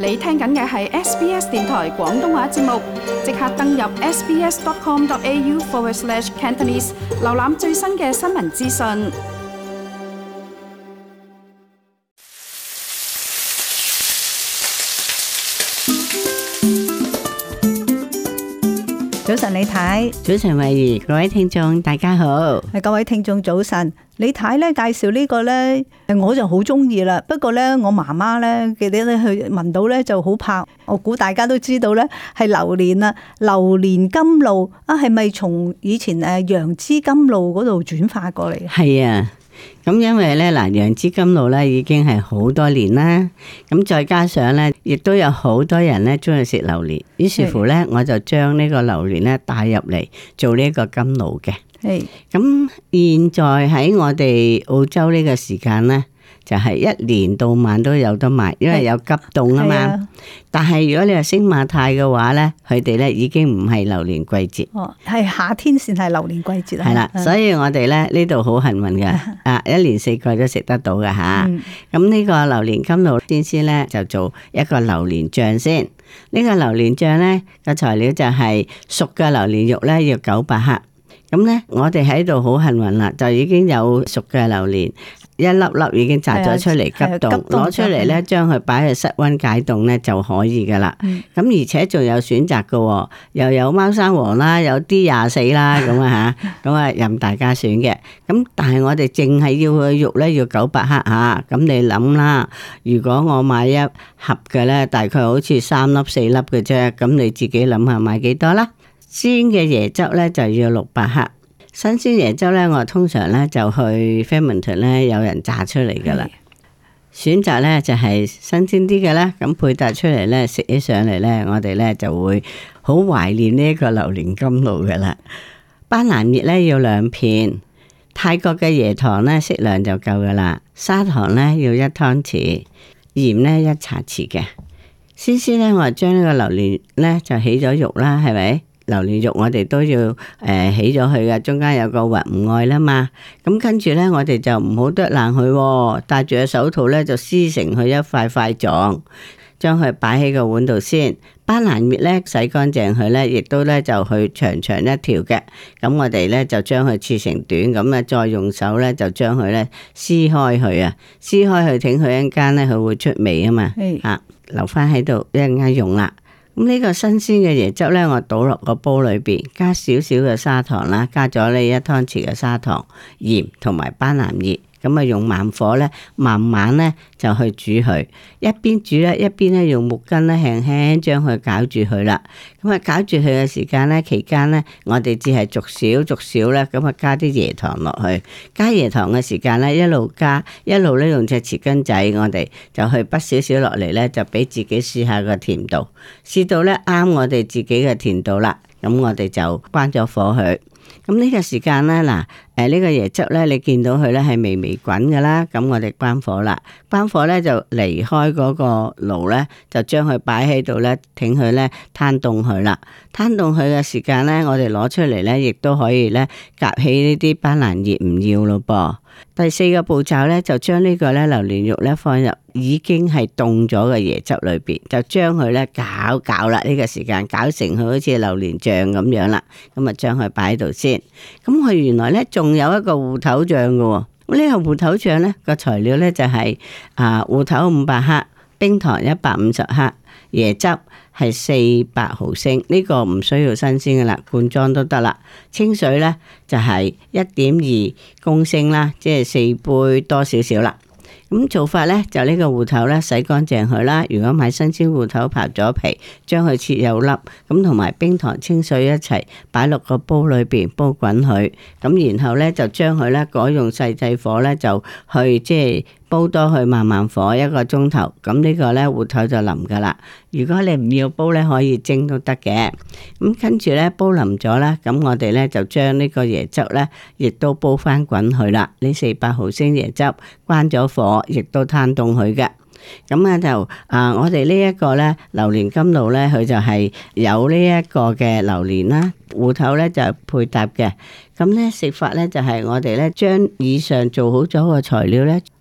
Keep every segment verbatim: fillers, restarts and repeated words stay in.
你聽緊嘅係 S B S 電台廣東話節目，即刻登入 sbs.com.au forward slash Cantonese， 瀏覽最新嘅新聞資訊。 早晨，李太。 早晨，慧怡，各位聽眾大家好。 係各位聽眾早晨。李太咧介紹呢個咧，我就好中意啦。不過咧，我媽媽咧記得咧去聞到咧就好怕。我估大家都知道咧係榴蓮啊，榴蓮甘露啊，係咪從以前誒楊枝甘露嗰度轉化過嚟？ 係啊。咁因為咧嗱，楊枝甘露咧已經係好多年啦，咁再加上咧，亦都有好多人咧中意食榴蓮，於是乎咧，我就將呢個榴蓮咧帶入嚟做呢個甘露嘅。係，咁現在喺我哋澳洲呢個時間咧，就係一年到晚都有得賣，因為有急凍啊嘛。但係如果你話星馬泰嘅話咧，佢哋咧已經唔係榴蓮季節。哦， 係夏天先係榴蓮季節啦。 係啦，所以我哋咧呢度好幸運嘅，啊一年四季都食得到嘅吓。咁呢個榴蓮甘露先先咧就做一個榴蓮醬先。呢個榴蓮醬咧個材料就係熟嘅榴蓮肉咧要九百克。咁咧我哋喺度好幸運啦，就已經有熟嘅榴蓮。一粒粒已經摘咗出嚟急凍，攞出嚟咧，將佢擺去室溫解凍咧就可以噶啦。咁、嗯、而且仲有選擇噶，又有貓山王啦，有 D 廿四啦，咁啊吓，咁啊任大家選嘅。咁但係我哋淨係要佢肉咧要九百克吓，咁你諗啦，如果我買一盒嘅咧，大概好似三粒四粒嘅啫，咁你自己諗下買幾多啦？鮮嘅椰汁咧就要六百克。新鮮椰汁咧，我通常咧就去 Flemington 咧有人榨出嚟噶啦。選擇咧就係新鮮啲嘅啦，咁配搭出嚟咧食起上嚟咧，我哋咧就會好懷念呢一個榴蓮甘露噶啦。班蘭葉咧要兩片，泰國嘅椰糖咧適量就夠噶啦，砂糖咧要一湯匙，鹽咧一茶匙嘅。先先咧，我將呢個榴蓮咧就起咗肉啦，係咪？榴蓮肉我哋都要誒、呃、起咗佢嘅，中間有個核唔愛啦嘛。咁跟住咧，我哋就唔好剁爛佢，戴住個手套咧就撕成佢一塊塊狀，將佢擺喺個碗度先。班蘭葉咧洗乾淨佢咧，亦都咧就去長長一條嘅。咁我哋咧就將佢切成短，咁咧再用手咧就將佢咧撕開佢啊，撕開佢，整佢一陣間咧佢會出味啊嘛。啊，留翻喺度一陣間用啦。咁呢個新鮮嘅椰汁咧，我倒落個煲裏邊，加少少嘅砂糖啦，加咗呢一湯匙嘅砂糖、鹽同埋班蘭葉，咁啊用慢火咧，慢慢咧就去煮佢，一邊煮咧，一邊咧用木棍咧輕輕將佢攪住佢啦。咁啊攪住佢嘅時間咧，期間咧我哋只係逐少逐少咧，咁啊加啲椰糖落去。加椰糖嘅時間咧，一路加，一路咧用隻匙羹仔，我哋就去滗少少落嚟咧，就俾自己試下個甜度，試到咧啱我哋自己嘅甜度啦。咁我哋就關咗火去。咁呢個時間咧，嗱，誒呢個椰汁咧，你見到佢咧係微微滾噶啦，咁我哋關火啦，關火咧就離開嗰個爐咧，就將佢擺喺度咧，挺佢咧攤凍佢啦，攤凍佢嘅時間咧，我哋攞出嚟咧，亦都可以咧夾起呢啲班蘭葉唔要咯噃。第四個步驟咧，就將呢個咧榴蓮肉咧放入已經係凍咗嘅椰汁裏邊，就將佢咧攪攪啦。呢個時間攪成佢好似榴蓮醬咁樣啦，咁啊將佢擺喺度先。咁佢原來咧仲有一個芋頭醬嘅喎。咁呢個芋頭醬咧個材料咧就係啊芋頭五百克，冰糖一百五十克，椰汁係四百毫升，呢個唔需要新鮮嘅啦，罐裝都得啦。清水咧就係一點二公升啦，即係四杯多少少啦。咁做法咧就呢個芋頭咧洗乾淨佢啦，如果買新鮮芋頭刨咗皮，將佢切幼粒，咁同埋冰糖清水一齊擺落個煲裏邊煲滾佢，咁然後咧就將佢咧改用細細火咧就去即係煲多去慢慢火一個鐘頭，咁呢個咧芋頭就腍噶啦。如果你唔要煲咧，可以蒸都得嘅。咁跟住咧煲腍咗啦，咁我哋咧就將呢個椰汁咧亦都煲翻滾佢啦。呢四百毫升椰汁關咗火，亦都攤凍佢嘅。咁啊就啊，我哋呢一個咧榴蓮甘露咧，佢就係有呢一個嘅榴蓮啦，芋頭咧就配搭嘅。咁咧食法咧就係我哋咧將以上做好咗個材料咧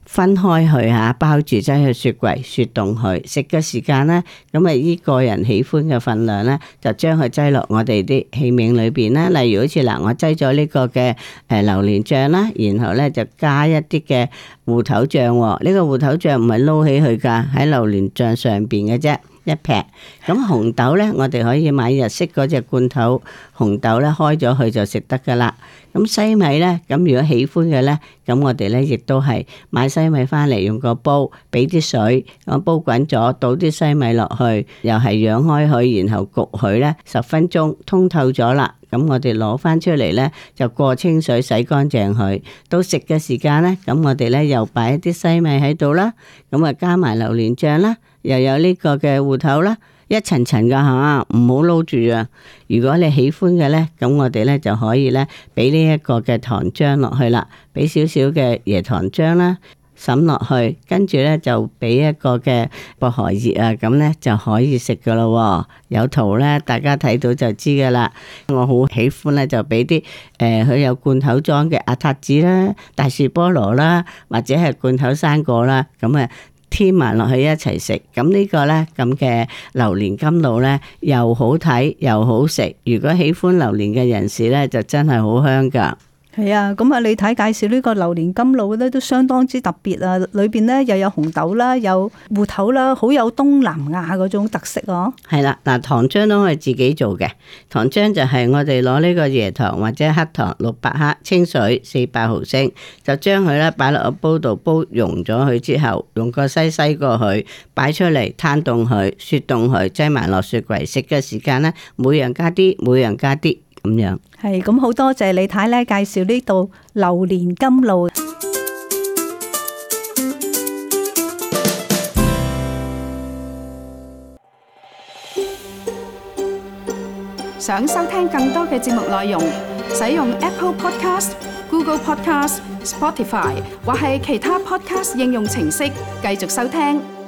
分開去嚇，包住擠去雪櫃雪凍佢。食嘅時間咧，咁啊依個人喜歡嘅份量咧，就將佢擠落我哋啲器皿裏邊啦。例如好似嗱，我擠咗呢個嘅誒榴蓮醬啦，然後咧就加一啲嘅芋頭醬。呢、這個芋頭醬唔係撈起佢㗎，喺榴蓮醬上邊嘅啫。一劈咁紅豆咧，我哋可以買日式嗰隻罐頭紅豆咧，開咗佢就食得噶啦。咁西米咧，咁如果喜歡嘅咧，咁我哋咧亦都係買西米翻嚟，用個煲俾啲水，我煲滾咗，倒啲西米落去，又係養開佢，然後焗佢咧十分鐘，通透咗啦。咁我哋攞翻出嚟咧，就過清水洗乾淨佢。到食嘅時間咧，咁我哋咧又擺一啲西米喺度啦，咁啊加埋榴蓮醬啦。又有呢個嘅芋頭啦，一層層噶吓，唔好撈住啊！如果你喜歡嘅咧，咁我哋咧就可以咧俾呢一個嘅糖漿落去啦，俾少少嘅椰糖漿啦，滲落去，跟住咧就俾一個嘅薄荷葉啊，咁咧就可以食噶咯。有圖咧，大家睇到就知噶啦。我好喜歡咧，就俾啲誒，佢、呃、有罐頭裝嘅阿塔子啦、大樹菠蘿啦，或者係罐頭生果啦，咁啊。添埋落去一齊食，咁呢個呢，咁嘅榴蓮甘露呢，又好睇又好食。如果喜歡榴蓮嘅人士呢，就真係好香噶。 係啊，咁啊，你睇介紹呢個榴蓮甘露咧，都相當之特別啊！裏邊咧又有紅豆啦，有芋頭啦，好有東南亞嗰種特色哦。 係啦，嗱，糖漿都係自己做嘅。糖漿就係我哋攞呢個椰糖或者黑糖六百克，清水四百毫升，就將佢咧擺落個煲度煲溶咗佢之後，用個篩篩過去，擺出嚟攤凍佢，雪凍佢，擠埋落雪櫃。食嘅時間咧，每樣加啲，每樣加啲。咁樣係咁，好多謝李太咧介紹呢度榴蓮甘露。 想收聽更多嘅節目內容，使用 Apple Podcast、Google Podcast、Spotify 或係其他 Podcast 應用程式繼續收聽。